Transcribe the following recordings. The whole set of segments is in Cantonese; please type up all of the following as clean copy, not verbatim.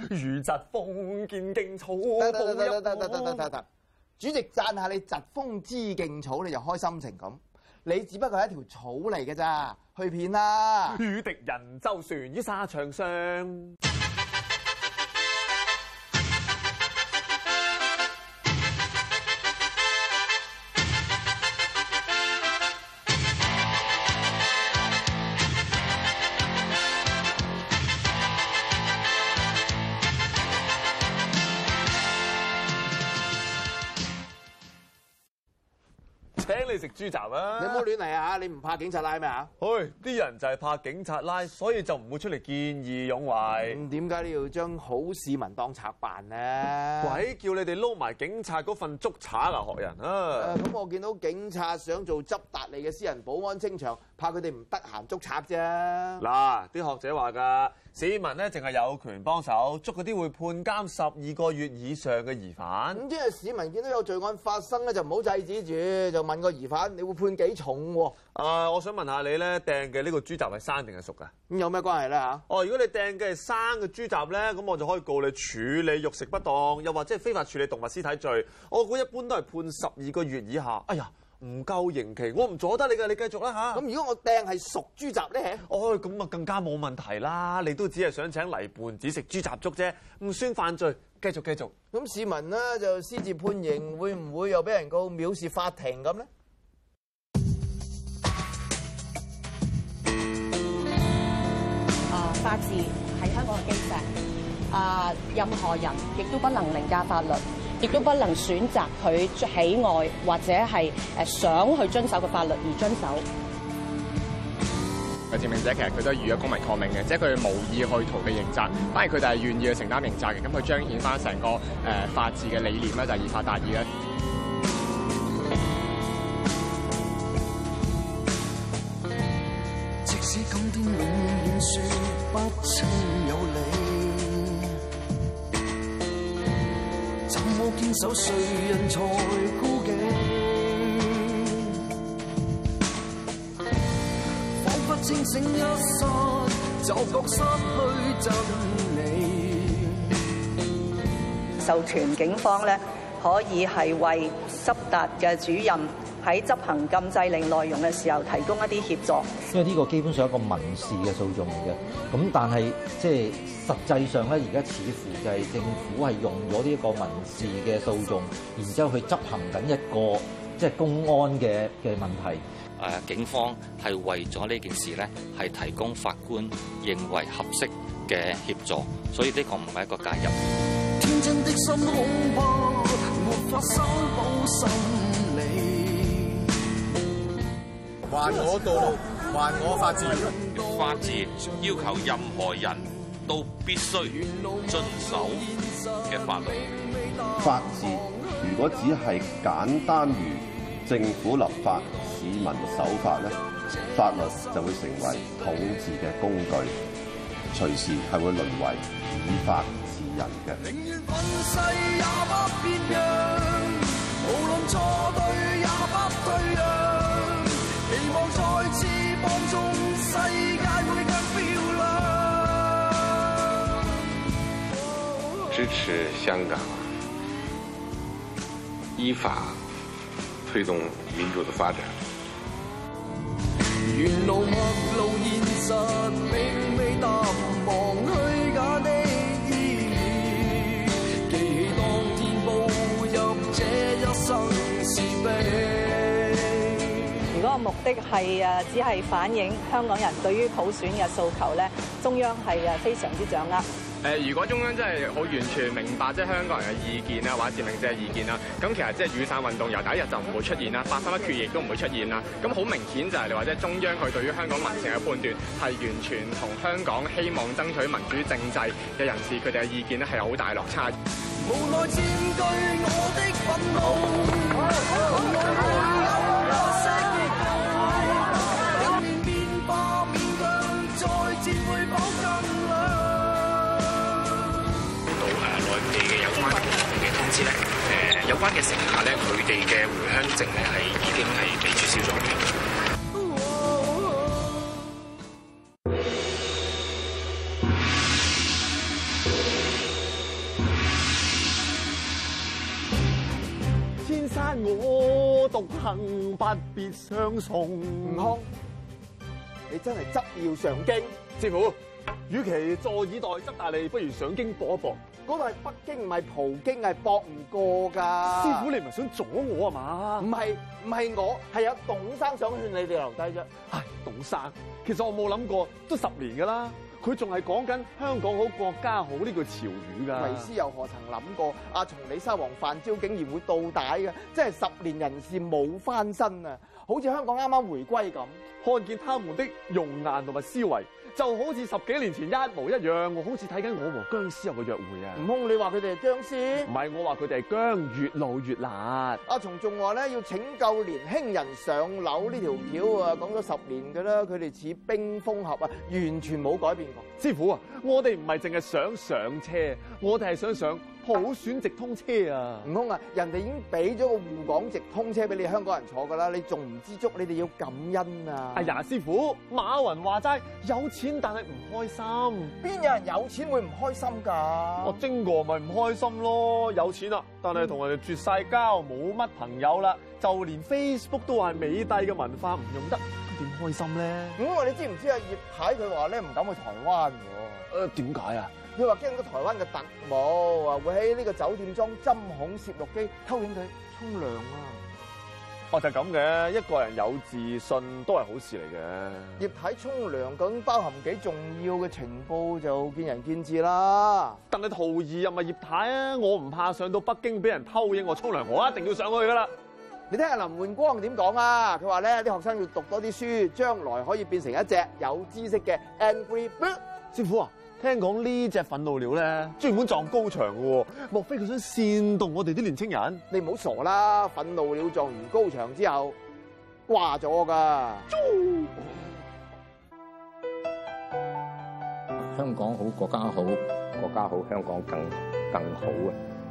如疾風見勁草。 得，主席讚下你疾風知勁草，你就開心成咁。你只不過係一條草嚟嘅咋，去片啦！ 與敵人周旋於沙場上。請你食豬雜啊！ 你唔好亂嚟啊！你唔怕警察拉咩啊？ 啲人就係怕警察拉，所以就唔會出嚟見義勇為。 點解你要將好市民當賊辦呢？ 鬼叫你哋撈埋警察嗰份捉賊啊！學人啊！ 咁我見到警察想做執達吏嘅私人保安清場，怕佢哋唔得閒捉賊啫。 嗱，啲學者話㗎，市民咧淨係有權幫手捉嗰啲會判監12個月以上嘅疑犯。 咁即係市民見到有罪案發生咧，就唔好制止住，就問個疑犯：你會判幾重喎？ 我想問下你咧，掟嘅呢個豬雜係生定係熟㗎？ 咁有咩關係咧嚇？ 如果你掟嘅係生嘅豬雜咧，咁我就可以告你處理肉食不當，又或者係非法處理動物屍體罪。我估一般都係判12個月以下。哎呀！唔夠刑期，我唔阻得你㗎，你繼續啦嚇。 咁如果我掟係熟豬雜咧？ 咁啊更加冇問題啦。你都只係想請黎胖子食豬雜粥啫，唔算犯罪。繼續。 咁市民呢，就私自判刑，會唔會又俾人告藐視法庭咁咧？ 法治係香港嘅基石。任何人亦都不能凌駕法律。亦都不能選擇佢喜愛或者係想去遵守嘅法律而遵守。 佔領者其實佢都係預咗公民抗命嘅，即係佢哋無意去逃避刑責，反而佢哋係願意去承擔刑責嘅。咁佢彰顯翻成個法治嘅理念咧，就係以法達義咧。 即使今天永遠說不清有理。我堅守誰人才孤寂，彷彿清醒一剎，就覺失去真理。 授權警方咧，可以係為執達嘅主任喺執行禁制令內容嘅時候提供一啲協助。 因為呢個基本上係一個民事嘅訴訟嚟嘅，咁但係即係實際上咧，而家似乎就係政府係用咗呢一個民事嘅訴訟，然之後去執行緊一個即係公安嘅問題。 警方係為咗呢件事咧，係提供法官認為合適嘅協助，所以呢個唔係一個介入。 天真的心恐怕沒法修補心理。 還我道路，還我法治。 法治要求任何人都必須遵守嘅法律。 法治如果只係簡單如政府立法，市民守法咧，法律就會成為統治嘅工具，隨時係會淪為以法治人嘅。 寧願憤世也不變樣，無論錯對也不退讓，期望再次放縱世界會更漂亮。 支持香港依法推動民主的發展。 沿路陌路現實，並未淡忘虛假的意義，記起當天步入這一生是悲。 如果個目的係只係反映香港人對於普選嘅訴求咧，中央係非常之掌握。 如果中央真係好完全明白即係香港人嘅意見啊，或者佔領者嘅意見啦，咁其實即係雨傘運動由第一日就唔會出現啦，831決議亦都唔會出現啦。咁好明顯就係你話即係中央佢對於香港民情嘅判斷係完全同香港希望爭取民主政制嘅人士佢哋嘅意見咧係有好大落差。 無奈佔據我的憤怒。 有關嘅乘客咧，佢哋嘅回鄉證咧係已經係被註銷咗嘅。 單我獨行，不必相送。 悟空，你真係執要上京。 師傅，與其坐以待執大利，不如上京搏一搏。 嗰度係北京，唔係葡京，係搏唔過㗎。 師傅，你唔係想阻我啊嘛？ 唔係我，係有董生想勸你哋留低啫。 唉，董生，其實我冇諗過，都10年㗎啦。佢仲係講緊香港好國家好呢句潮語㗎。 為師又何曾諗過阿松李沙皇范椒竟然會倒帶嘅？真係10年人事冇翻身啊！好似香港啱啱回歸咁， 看見他們的容顏同埋思維，就好似10幾年前一模一樣。我好似睇緊我和僵屍有個約會啊！ 悟空，你話佢哋係僵屍？ 唔係，我話佢哋係僵，越老越辣。 阿松仲話咧要拯救年輕人上樓呢條橋啊，講咗10年㗎啦，佢哋似冰封俠啊，完全冇改變過。 師傅啊，我哋唔係淨係想上車，我哋係想上普選直通車啊！ 悟空啊，人哋已經俾咗個滬港直通車俾你香港人坐㗎啦，你仲唔知足？你哋要感恩啊！ 哎呀，師傅，馬雲話齋有錢但係唔開心， 邊有人有錢會唔開心㗎？ 我精哥咪唔開心咯，有錢啦，但係同人哋絕晒交，冇乜朋友啦，就連 Facebook 都話係美帝嘅文化唔用得，咁點開心咧？ 你知唔知啊？葉太佢話咧唔敢去台灣喎。 點解啊？ 佢話驚到台灣嘅特務啊，會喺呢個酒店裝針孔攝錄機偷影佢沖涼啊！ 哦，就係咁嘅，一個人有自信都係好事嚟嘅。 葉太沖涼究竟包含幾重要嘅情報就見仁見智啦。 但係徒兒又唔係葉太啊，我唔怕上到北京俾人偷影我沖涼，我一定要上去噶啦。 你聽下林煥光點講啊？佢話咧啲學生要讀多啲書，將來可以變成一隻有知識嘅 Angry Bird。 師傅啊！聽講呢隻憤怒鳥咧，專門撞高牆嘅喎，莫非佢想煽動我哋啲年青人？ 你唔好傻啦！憤怒鳥撞完高牆之後掛咗㗎。 香港好，國家好，國家好，香港更好啊！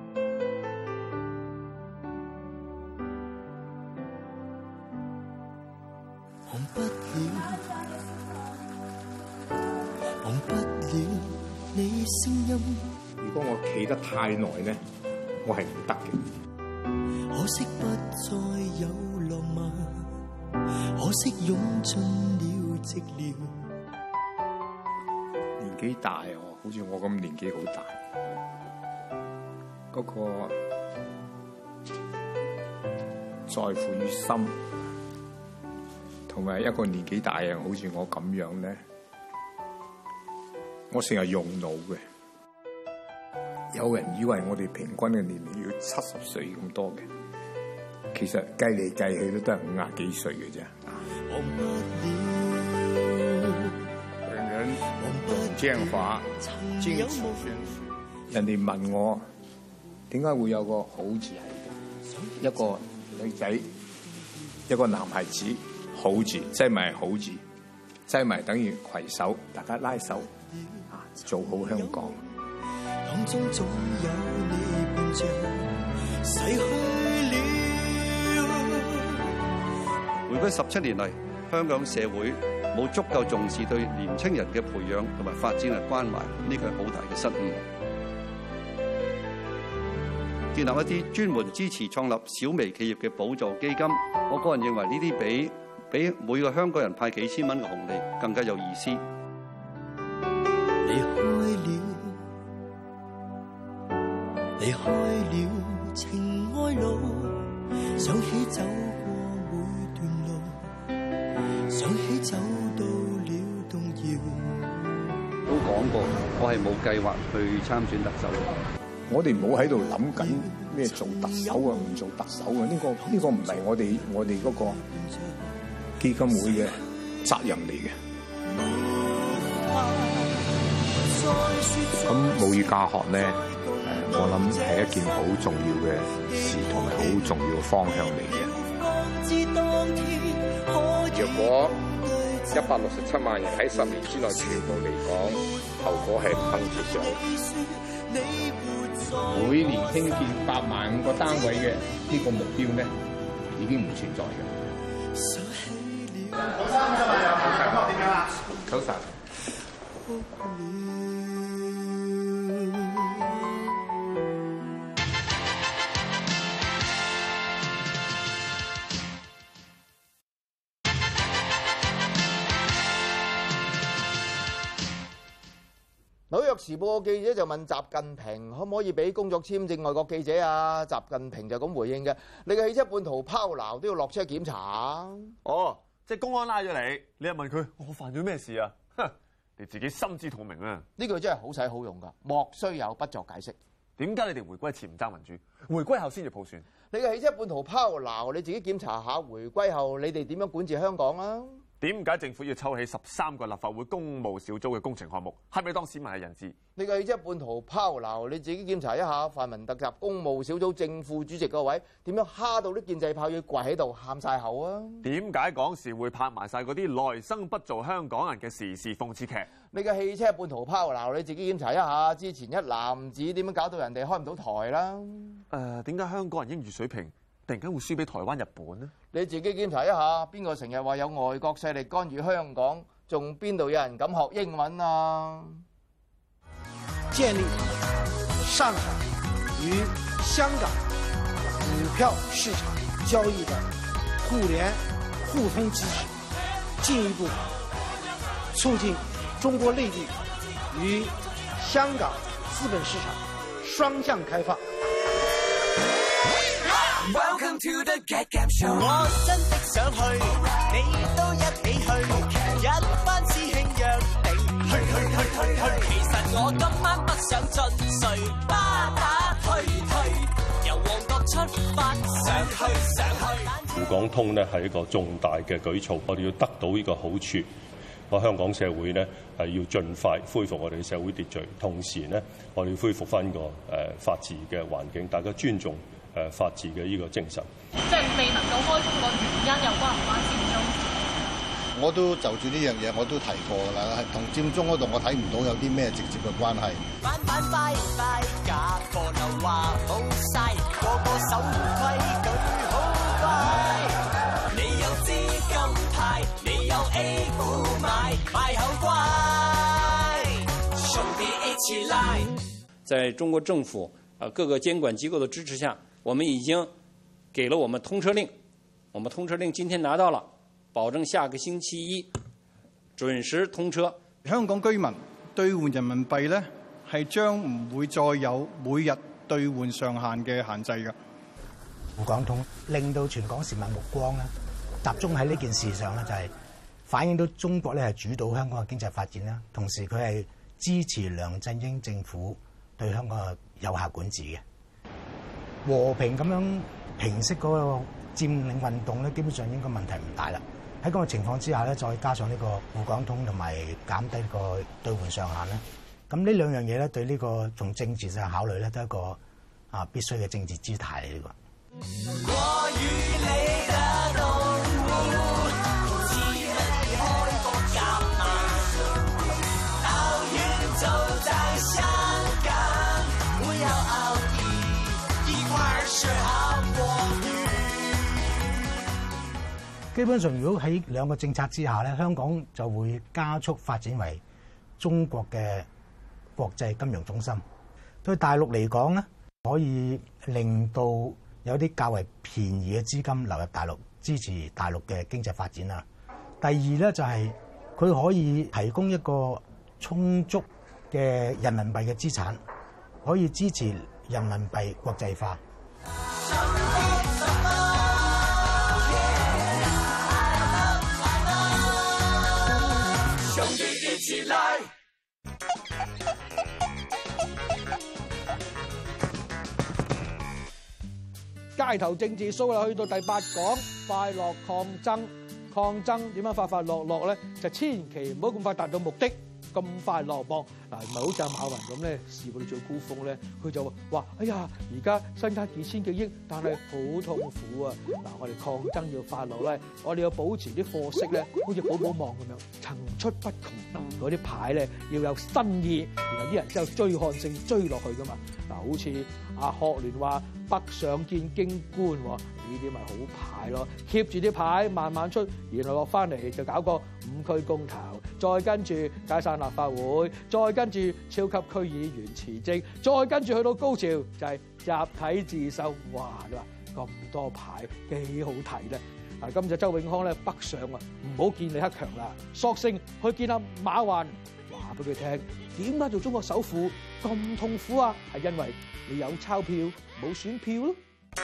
忘不了，忘不了你聲音。 如果我企得太耐咧，我係唔得嘅。 可惜不再有浪漫，可惜湧盡了寂寥。 年紀大好似我咁年紀好大，嗰個在乎於心，同埋一個年紀大人好似我咁樣咧，我成日用腦嘅。有人以為我哋平均嘅年齡要70歲咁多嘅，其實計嚟計去都係50幾歲嘅啫。人人用將法堅持宣誓。人哋問我點解會有個好字喺度？一個女仔，一個男孩子，好字，即係咪好字？即係咪等於攜手，大家拉手啊，做好香港。 當中總有你伴着，逝去了。 回歸17年嚟，香港社會冇足夠重視對年青人嘅培養同埋發展嘅關懷，呢個係好大嘅失誤。建立一啲專門支持創立小微企業嘅補助基金，我個人認為呢啲比每個香港人派幾千蚊嘅紅利更加有意思。 離開了，離開了情愛路，想起走過每段路，想起走到了動搖。 都講過，我係冇計劃去參選特首。 我哋唔好喺度諗緊咩做特首啊，唔做特首啊，呢個唔係我哋嗰個基金會嘅責任嚟嘅。咁母語教學咧，我諗係一件好重要嘅事，同埋好重要嘅方向嚟嘅。 若果167萬人喺10年之內全部離港，後果係不堪設想。每年興建85000個單位嘅呢個目標咧，已經唔存在嘅。 好生㗎嘛，又點樣啊？ 九神。 時報嘅記者就問習近平可唔可以俾工作簽證外國記者啊？習近平就咁回應嘅：你嘅汽車半途拋錨都要落車檢查啊！ 哦，即係公安拉咗你，你又問佢我犯咗咩事啊？哼，你自己心知肚明啊！ 呢句真係好使好用㗎，莫須有，不作解釋。 點解你哋回歸前唔爭民主，回歸後先至普選？ 你嘅汽車半途拋錨，你自己檢查下。回歸後你哋點樣管治香港啊？ 點解政府要抽起13個立法會公務小組嘅工程項目？係咪當市民係人質？ 你嘅汽車半途拋錨，你自己檢查一下。泛民特集公務小組正副主席個位點樣蝦到啲建制派要跪喺度喊晒口啊？ 點解講時會拍埋晒嗰啲來生不做香港人嘅時事諷刺劇？ 你嘅汽車半途拋錨，你自己檢查一下。之前一男子點樣搞到人哋開唔到台啦？ 點解香港人英語水平突然間會輸俾台灣、日本呢？ 你自己檢查一下，邊個成日話有外國勢力干預香港，仲邊度有人敢學英文啊？ 建立上海與香港股票市場交易的互聯互通機制，進一步促進中國內地與香港資本市場雙向開放。 Welcome to the Get Gap Show。我真的想去，你都一起去，一班師兄約定去。其實我今晚不想進睡，巴打推，由旺角出發，上去。 滬港通呢係一個重大嘅舉措，我哋要得到呢個好處。我香港社會呢係要盡快恢復我哋嘅社會秩序，同時呢我哋要恢復翻個法治嘅環境，大家尊重法治嘅呢個精神。 即係未能夠開通個原因又關唔關佔中？ 我都就住呢樣嘢我都提過㗎啦，同佔中嗰度我睇唔到有啲咩直接嘅關係。 反快假貨就話冇晒，個個守規矩好乖。你有資金派，你有 A 股買，買好乖。兄弟一起來！ 在中國政府各個監管機構的支持下，我們已經給了我們通車令，我們通車令今天拿到了，保證下個星期一準時通車。 香港居民兌換人民幣呢，係將唔會再有每日兌換上限嘅限制嘅。 滬港通令到全港市民目光咧集中喺呢件事上咧，就係反映到中國咧係主導香港嘅經濟發展啦，同時佢係支持梁振英政府對香港嘅有效管治嘅。和平咁樣平息嗰個佔領運動咧，基本上應該問題唔大啦。喺咁嘅情況之下咧，再加上呢個滬港通同埋減低個兌換上限咧，咁呢兩樣嘢咧對呢個從政治上考慮咧，都係一個必須嘅政治姿態嚟嘅。 我與你的動物，似你開個夾萬，到遠走在香港，不要傲意，一塊兒是好過魚。 基本上，如果喺兩個政策之下咧，香港就會加速發展為中國嘅國際金融中心。對大陸嚟講咧，可以令到有啲較為便宜嘅資金流入大陸，支持大陸嘅經濟發展啦。第二咧就係佢可以提供一個充足嘅人民幣嘅資產，可以支持人民幣國際化。 兄弟一起來！ 街頭政治 show 啦，去到第8講快樂抗爭，抗爭點樣快快樂樂咧？就千祈唔好咁快達到目的，咁快落幕嗱，唔係好似阿馬雲咁咧，事到最高峰咧，佢就話：哎呀，而家身家幾千幾億，但係好痛苦啊！嗱，我哋抗爭要快樂咧，我哋要保持啲貨色咧，好似寶寶網咁樣層出不窮，嗰啲牌咧要有新意，然後啲人之後追看性追落去噶嘛。嗱，好似阿學聯話北上見京官喎，呢啲咪好牌咯，keep 住啲牌慢慢出，然後落翻嚟就搞個5區公投，再跟住解散立法會，再跟住超級區議員辭職，再跟住去到高潮就係集體自首。哇！你話咁多牌幾好睇咧？嗱，今日周永康咧北上啊，唔好見李克強啦，索性去見阿馬雲。 話俾佢聽，點解做中國首富咁痛苦啊？係因為你有鈔票冇選票咯。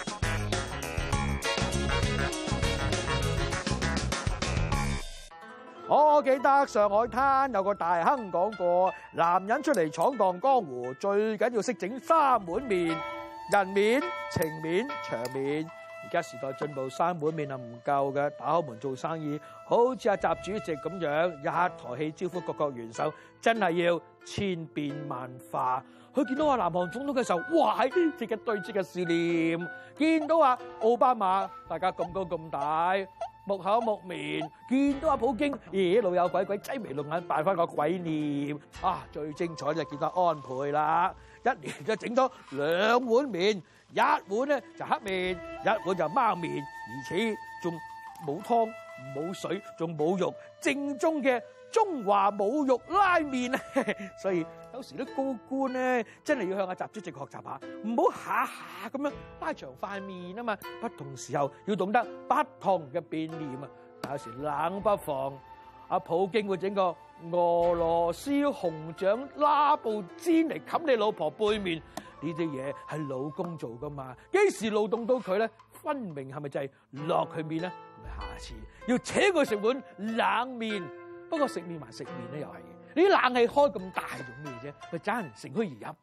我記得上海灘有個大亨講過，男人出嚟闖蕩江湖，最緊要識整三碗麵：人面、情面、場面。而家時代進步，三碗麵係唔夠嘅，打開門做生意，好似阿習主席咁樣一台戲招呼各國元首，真係要千變萬化。佢見到阿南韓總統嘅時候，哇！即刻對即刻笑臉。見到阿奧巴馬，大家咁高咁大，木口木面。見到阿普京，老友鬼鬼擠眉弄眼，扮翻個鬼臉。啊，最精彩就見到安倍啦，一年就整咗2碗麵，一碗咧就黑面，一碗就貓面，而且仲冇湯冇水，仲冇肉，正宗嘅中華冇肉拉麵啊！所以有時啲高官咧，真係要向阿習主席學習下，唔好下下咁樣拉長塊面啊嘛。不同時候要懂得不同嘅變臉啊。但有時冷不防，阿普京會整個俄羅斯紅掌拉布氈嚟冚你老婆背面，呢啲嘢係老公做噶嘛？幾時勞動到佢咧？分明係咪就係落佢面咧？咪下次要請佢食碗冷面。不過食麵還食麵咧，又係嘅。你啲冷氣開咁大做咩啫？咪盞人乘虛而入。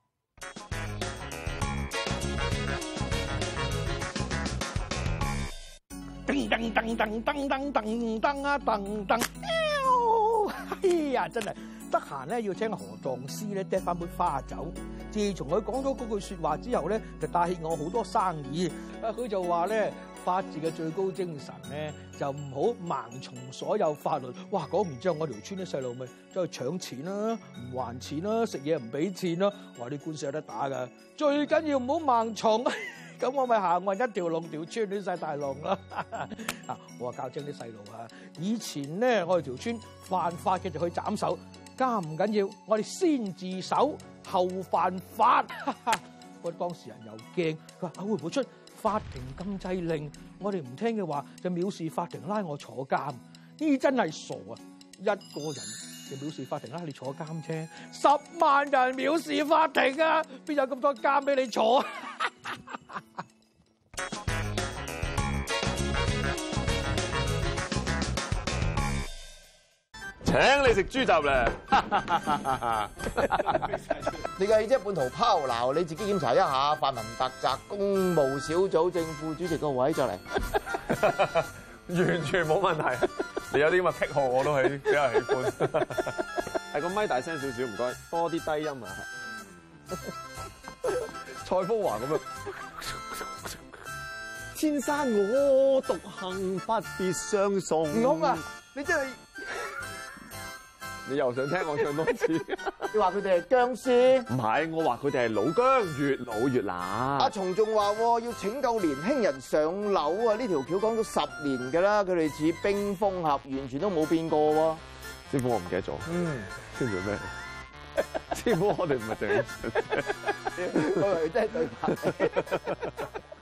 噔噔噔噔噔噔噔噔啊噔噔！哎呀，真係得閒咧要請何狀師咧掟翻杯花酒。自從佢講咗嗰句説話之後咧，就帶起我好多生意。佢就話咧，法治嘅最高精神咧，就唔好盲從所有法律。哇！講完之後，我條村啲細路咪走去搶錢啦，唔還錢啦，食嘢唔俾錢啦。話啲官司有得打㗎，最緊要唔好盲從。咁我咪行運一條龍，條村亂晒大龍啦！啊，我話教精啲細路啊，以前咧我哋條村犯法嘅就去斬手，家唔緊要，我哋先自首後犯法。我當事人又驚，佢話會唔會出法庭禁制令？我哋唔聽嘅話就藐視法庭，拉我坐監。呢真係傻啊！一個人就藐視法庭拉你坐監啫，10萬人藐視法庭啊！邊有咁多監俾你坐？ 請你食豬雜咧！ 你嘅即係半途拋錨，你自己檢查一下。泛民特責公務小組正副主席個位就嚟， 完全冇問題。你有啲咁嘅癖好，我都係比較喜歡。係個咪大聲少少，唔該，多啲低音啊！蔡楓華咁樣，千山我獨行，不必相送。 悟空啊，你真係〜 你又想聽我唱多次？ 你話佢哋係僵屍？ 唔係，我話佢哋係老姜，越老越辣。 阿松仲話要拯救年輕人上樓啊！呢條橋講咗10年㗎啦，佢哋似冰封俠，完全都冇變過喎。 師傅，我唔記得咗。跟住咩？師傅，我哋唔係淨係， 我以為真係對白。